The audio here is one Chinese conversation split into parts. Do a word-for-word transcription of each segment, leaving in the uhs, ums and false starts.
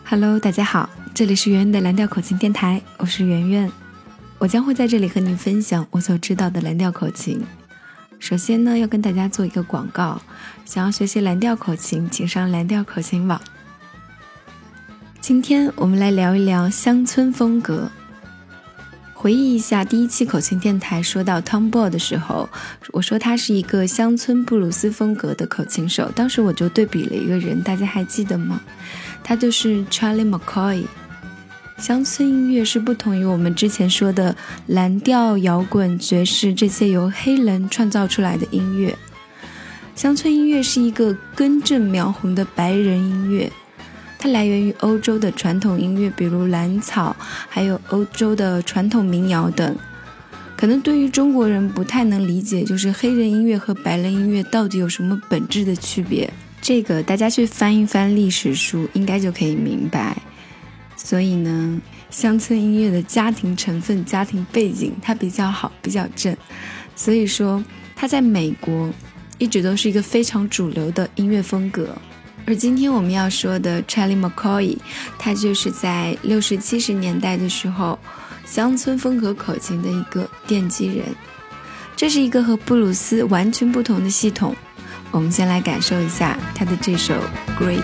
Hello， 大家好，这里是圆圆的蓝调口琴电台，我是圆圆。我将会在这里和您分享我所知道的蓝调口琴。首先呢，要跟大家做一个广告，想要学习蓝调口琴，请上蓝调口琴网。今天我们来聊一聊乡村风格。回忆一下第一期口琴电台说到 Tom Ball 的时候，我说他是一个乡村布鲁斯风格的口琴手，当时我就对比了一个人，大家还记得吗？他就是 Charlie McCoy。 乡村音乐是不同于我们之前说的蓝调、摇滚、爵士这些由黑人创造出来的音乐。乡村音乐是一个根正苗红的白人音乐，它来源于欧洲的传统音乐，比如蓝草，还有欧洲的传统民谣等。可能对于中国人不太能理解，就是黑人音乐和白人音乐到底有什么本质的区别，这个大家去翻一翻历史书应该就可以明白。所以呢，乡村音乐的家庭成分、家庭背景它比较好，比较正，所以说它在美国一直都是一个非常主流的音乐风格。而今天我们要说的 Charlie McCoy， 他就是在六十七十年代的时候乡村风格口琴的一个奠基人。这是一个和布鲁斯完全不同的系统。我们先来感受一下他的这首 Great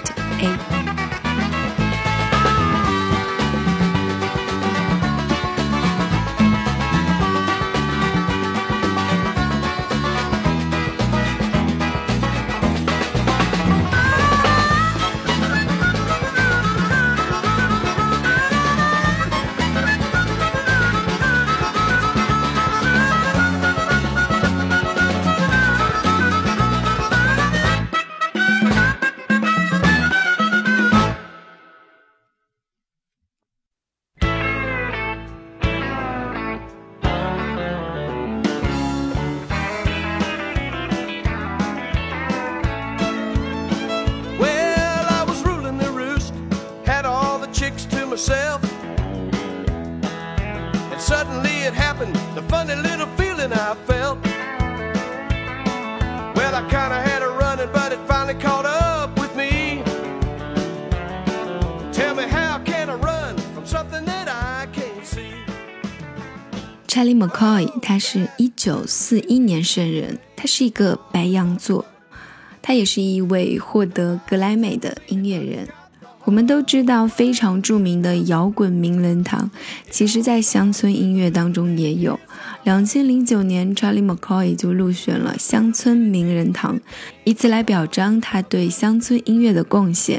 Eight。Myself, and suddenly it happened, the funny little feeling I felt. Well, I kinda had a running, but it finally caught up with me. Tell me, how can I run from something that I can't see? Charlie McCoy 他是一九四一年生人，他是一个白羊座，他也是一位获得格莱美的音乐人。我们都知道非常著名的摇滚名人堂，其实在乡村音乐当中也有。二零零九年 Charlie McCoy 就入选了乡村名人堂，以此来表彰他对乡村音乐的贡献。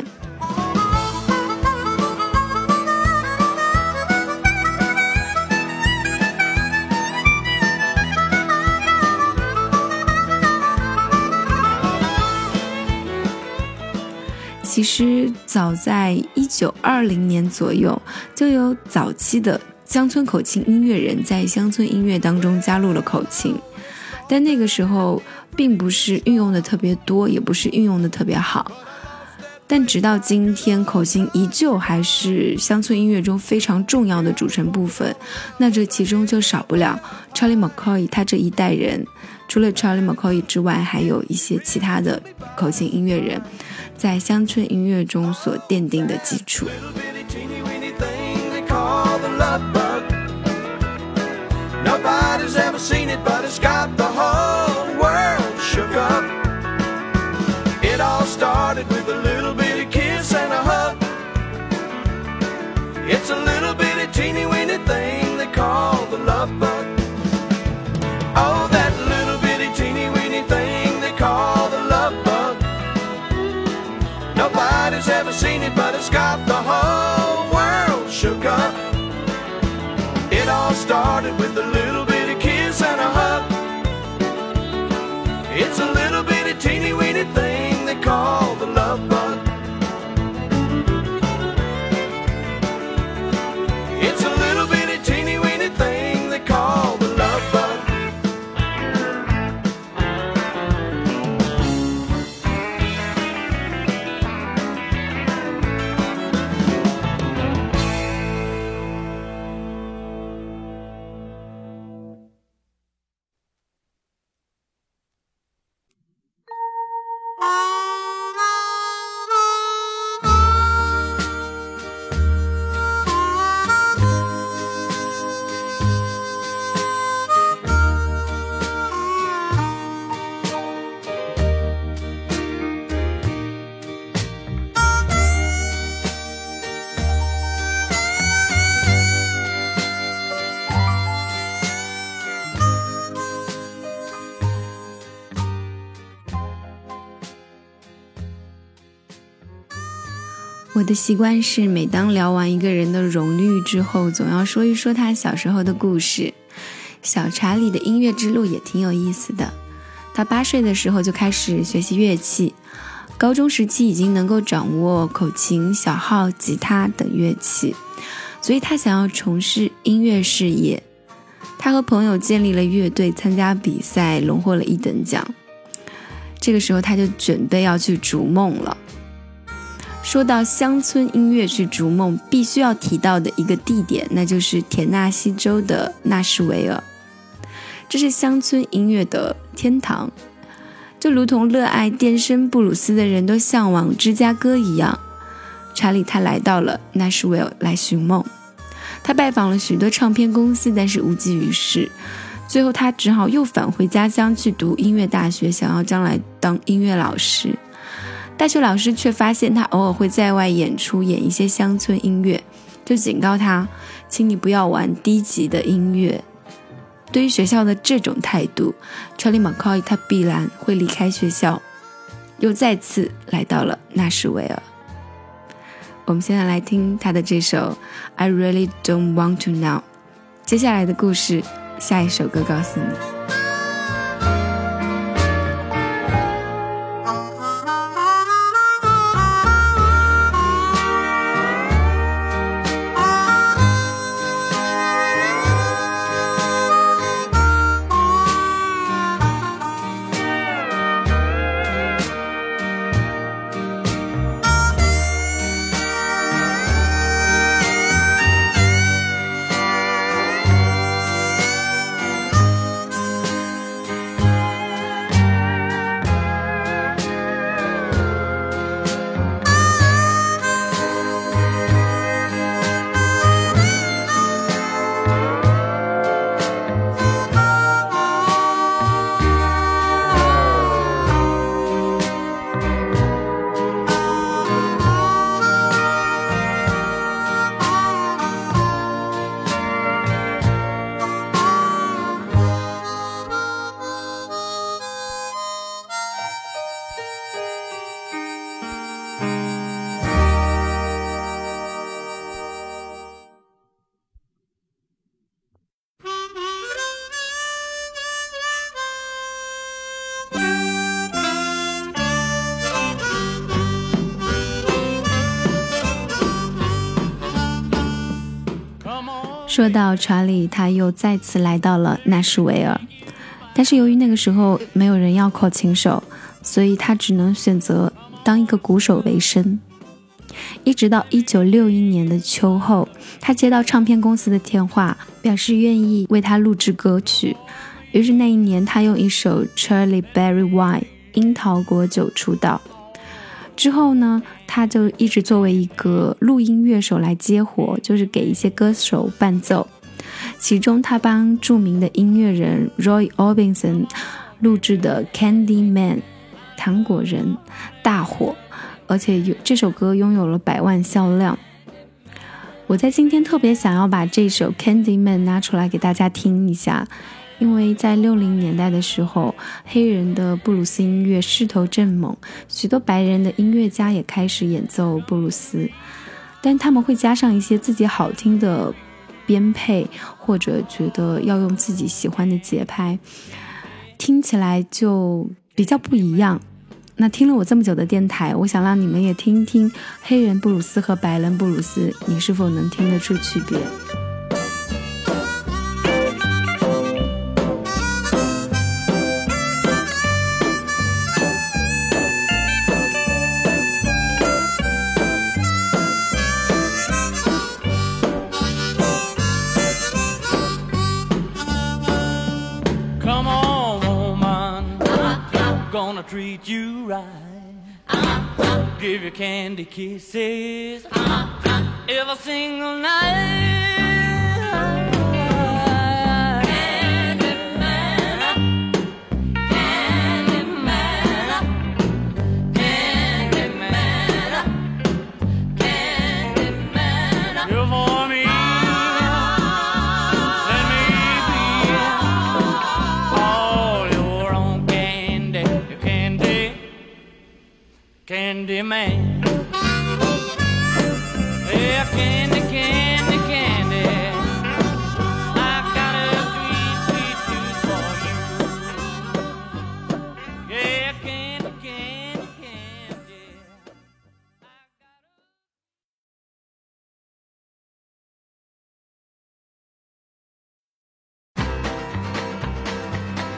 其实早在一九二零年左右，就有早期的乡村口琴音乐人在乡村音乐当中加入了口琴，但那个时候并不是运用的特别多，也不是运用的特别好。但直到今天，口琴依旧还是乡村音乐中非常重要的组成部分。那这其中就少不了 Charlie McCoy 他这一代人。除了 Charlie McCoy 之外，还有一些其他的口琴音乐人在乡村音乐中所奠定的基础。 Nobody's ever seen it, but it's got the whole world shook up. It all started with a little bitty kiss and a hug. It's a little bitty teeny weeny thing they call the love bug. Oh, that little bitty teeny weeny thing they call the love bug. Nobody's ever seen it, but it's got the whole world shook up. It all started with a little bitty kiss and a hug. It's a little bitty teeny weeny thing they call the love bug. It's a little bitty teeny weeny thing they call the love bug. 我的习惯是每当聊完一个人的荣誉之后，总要说一说他小时候的故事。小查理的音乐之路也挺有意思的，他八岁的时候就开始学习乐器，高中时期已经能够掌握口琴、小号、吉他等乐器，所以他想要从事音乐事业。他和朋友建立了乐队，参加比赛，荣获了一等奖。这个时候他就准备要去逐梦了。说到乡村音乐去逐梦，必须要提到的一个地点，那就是田纳西州的纳什维尔。这是乡村音乐的天堂，就如同热爱电声布鲁斯的人都向往芝加哥一样。查理他来到了纳什维尔来寻梦，他拜访了许多唱片公司，但是无济于事。最后他只好又返回家乡去读音乐大学，想要将来当音乐老师。大学老师却发现他偶尔会在外演出，演一些乡村音乐，就警告他，请你不要玩低级的音乐。对于学校的这种态度， Charlie McCoy 他必然会离开学校，又再次来到了纳什维尔。我们现在来听他的这首 I Really Don't Want To Now。 接下来的故事，下一首歌告诉你。说到查理，他又再次来到了纳什维尔，但是由于那个时候没有人要口琴手，所以他只能选择当一个鼓手为生。一直到一九六一年的秋后，他接到唱片公司的电话，表示愿意为他录制歌曲。于是那一年，他用一首 Cherry Berry Wine 樱桃果酒出道。之后呢，他就一直作为一个录音乐手来接活，就是给一些歌手伴奏。其中他帮著名的音乐人 Roy Orbison 录制的 Candy Man 糖果人大火，而且有这首歌拥有了百万销量。我在今天特别想要把这首 Candy Man 拿出来给大家听一下，因为在六零年代的时候，黑人的布鲁斯音乐势头正猛，许多白人的音乐家也开始演奏布鲁斯，但他们会加上一些自己好听的编配，或者觉得要用自己喜欢的节拍，听起来就比较不一样。那听了我这么久的电台，我想让你们也听一听黑人布鲁斯和白人布鲁斯，你是否能听得出区别 ？Gonna treat you right, give you candy kisses every single night. Candy man, candy man, candy man, candy man. You're for me, let me be all your own candy, candy, candy man.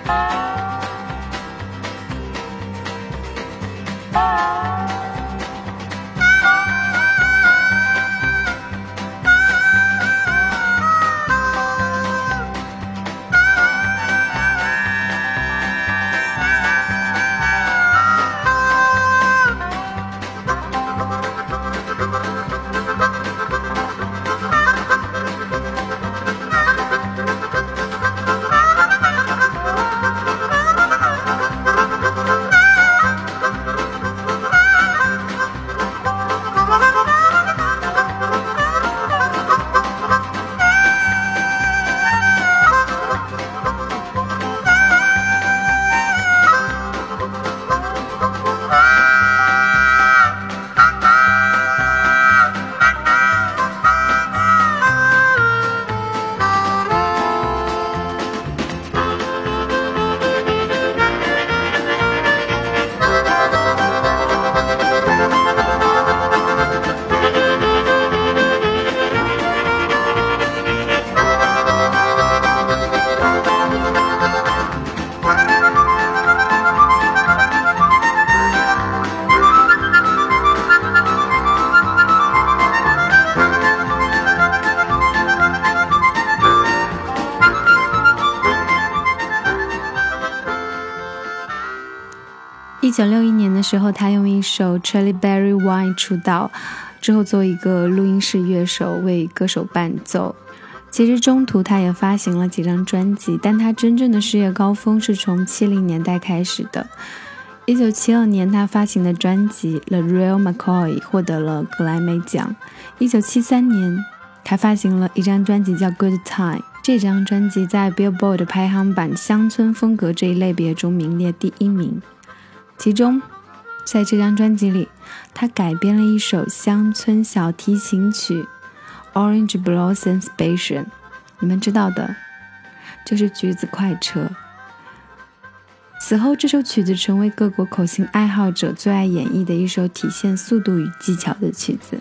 一九六一年的时候，他用一首 Cherry Berry Wine 出道，之后做一个录音室乐手，为歌手伴奏。其实中途他也发行了几张专辑，但他真正的事业高峰是从七零年代开始的。一九七二年他发行的专辑 The Real McCoy 获得了格莱美奖。一九七三年他发行了一张专辑叫 Good Time， 这张专辑在 Billboard 排行榜乡村风格这一类别中名列第一名。其中在这张专辑里，他改编了一首乡村小提琴曲 Orange Blossom Station， 你们知道的，就是橘子快车。此后这首曲子成为各国口琴爱好者最爱演绎的一首体现速度与技巧的曲子。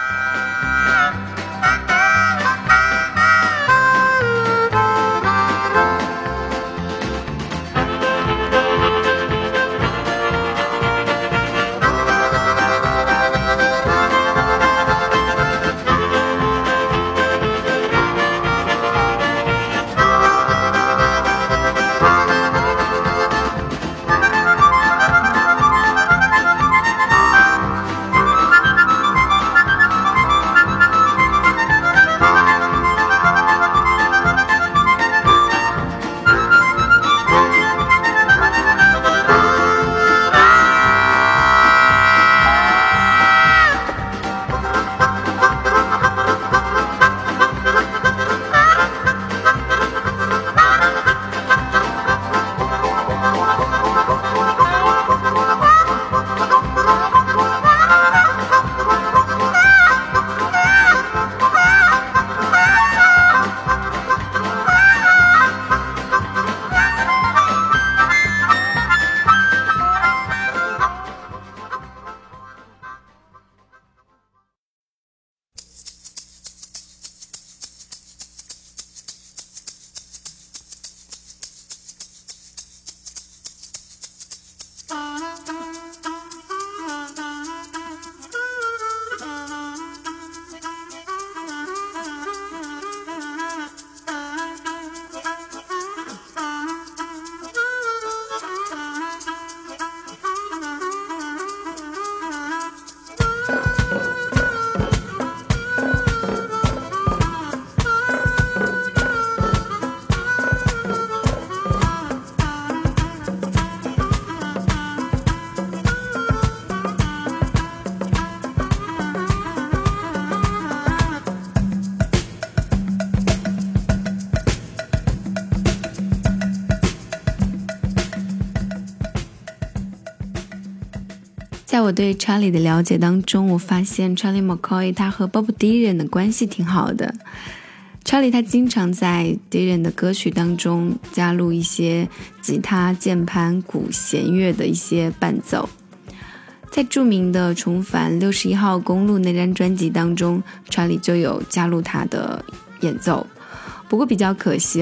在我对 Charlie 的了解当中，我发现 Charlie McCoy 他和 Bob Dylan 的关系挺好的。Charlie 他经常在 Dylan 的歌曲当中加入一些吉他、键盘、鼓、弦乐的一些伴奏。在著名的重返六十一号公路那张专辑当中， Charlie 就有加入他的演奏。不过比较可惜啊，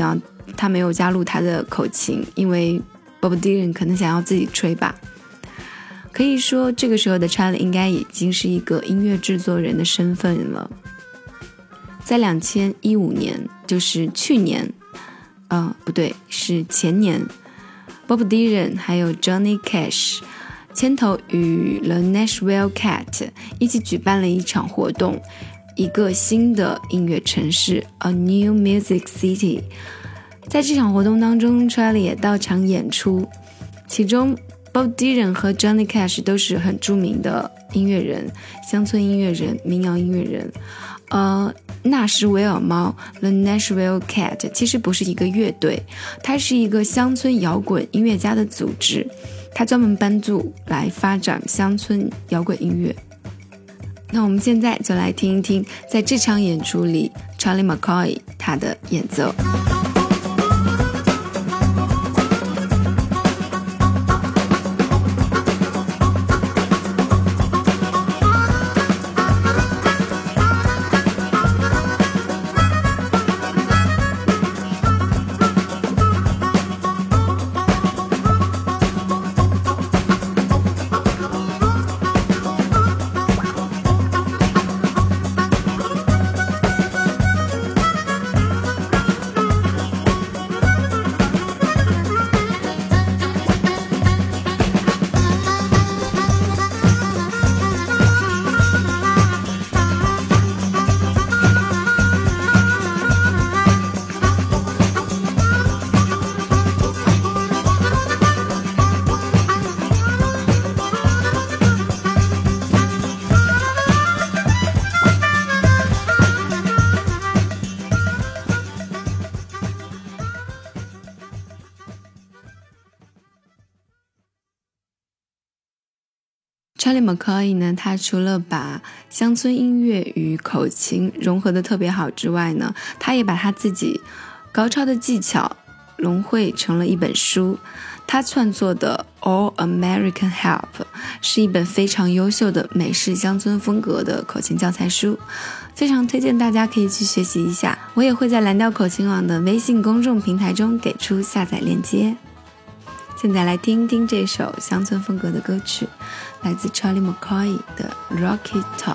他没有加入他的口琴，因为 Bob Dylan 可能想要自己吹吧。可以说这个时候的 Charlie 应该已经是一个音乐制作人的身份了。在二零一五年，就是去年呃，不对，是前年， Bob Dylan 还有 Johnny Cash 牵头与 The Nashville Cat 一起举办了一场活动，一个新的音乐城市 A New Music City。 在这场活动当中， Charlie 也到场演出，其中 Bob Dylan 和 Johnny Cash 都是很著名的音乐人，乡村音乐人，民谣音乐人。呃，纳什维尔猫 The Nashville Cat 其实不是一个乐队，它是一个乡村摇滚音乐家的组织，它专门帮助来发展乡村摇滚音乐。那我们现在就来听一听在这场演出里 Charlie McCoy 他的演奏。Charlie McCoy 呢，他除了把乡村音乐与口琴融合的特别好之外呢，他也把他自己高超的技巧融汇成了一本书。他创作的 All American Help 是一本非常优秀的美式乡村风格的口琴教材书，非常推荐大家可以去学习一下。我也会在蓝调口琴网的微信公众平台中给出下载链接。现在来听听这首乡村风格的歌曲，来自 Charlie McCoy 的 Rocky Top。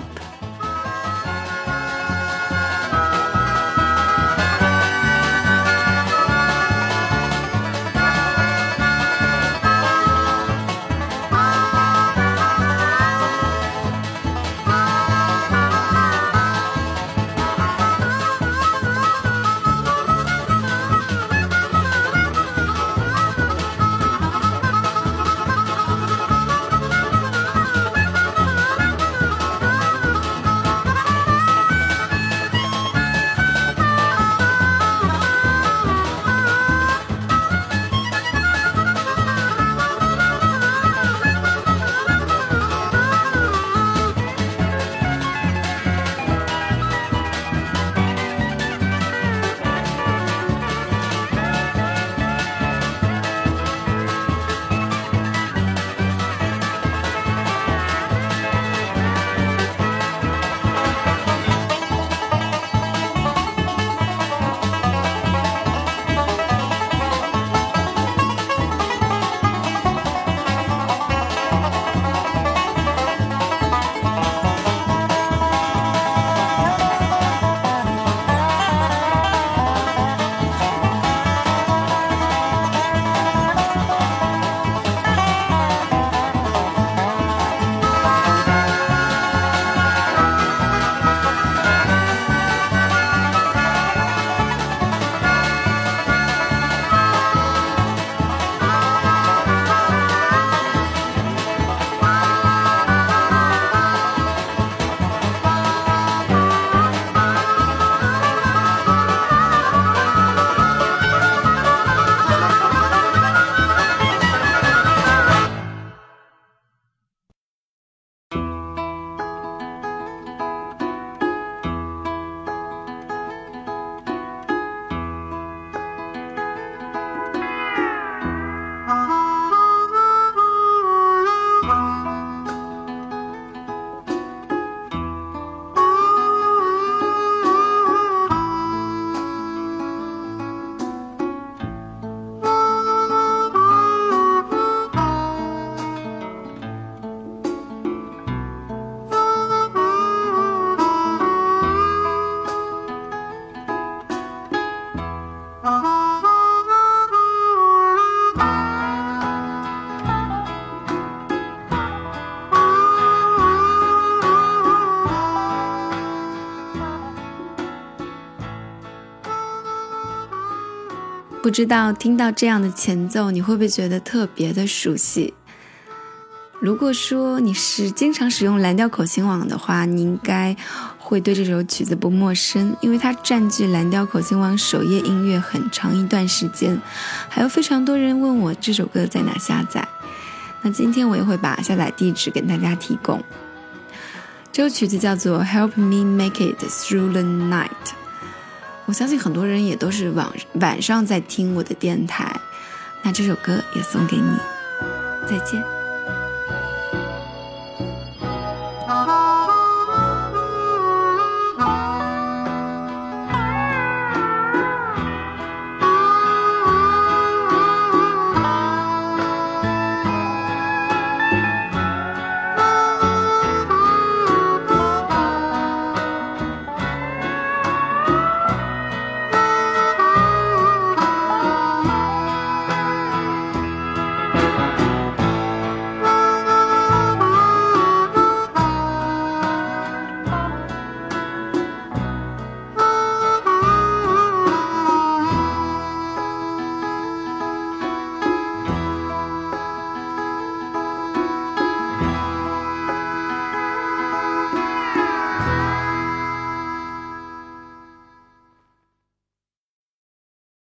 不知道听到这样的前奏，你会不会觉得特别的熟悉？如果说你是经常使用蓝调口琴网的话，你应该会对这首曲子不陌生，因为它占据蓝调口琴网首页音乐很长一段时间，还有非常多人问我这首歌在哪下载。那今天我也会把下载地址给大家提供。这首曲子叫做 Help Me Make It Through the Night， 我相信很多人也都是晚晚上在听我的电台，那这首歌也送给你，再见。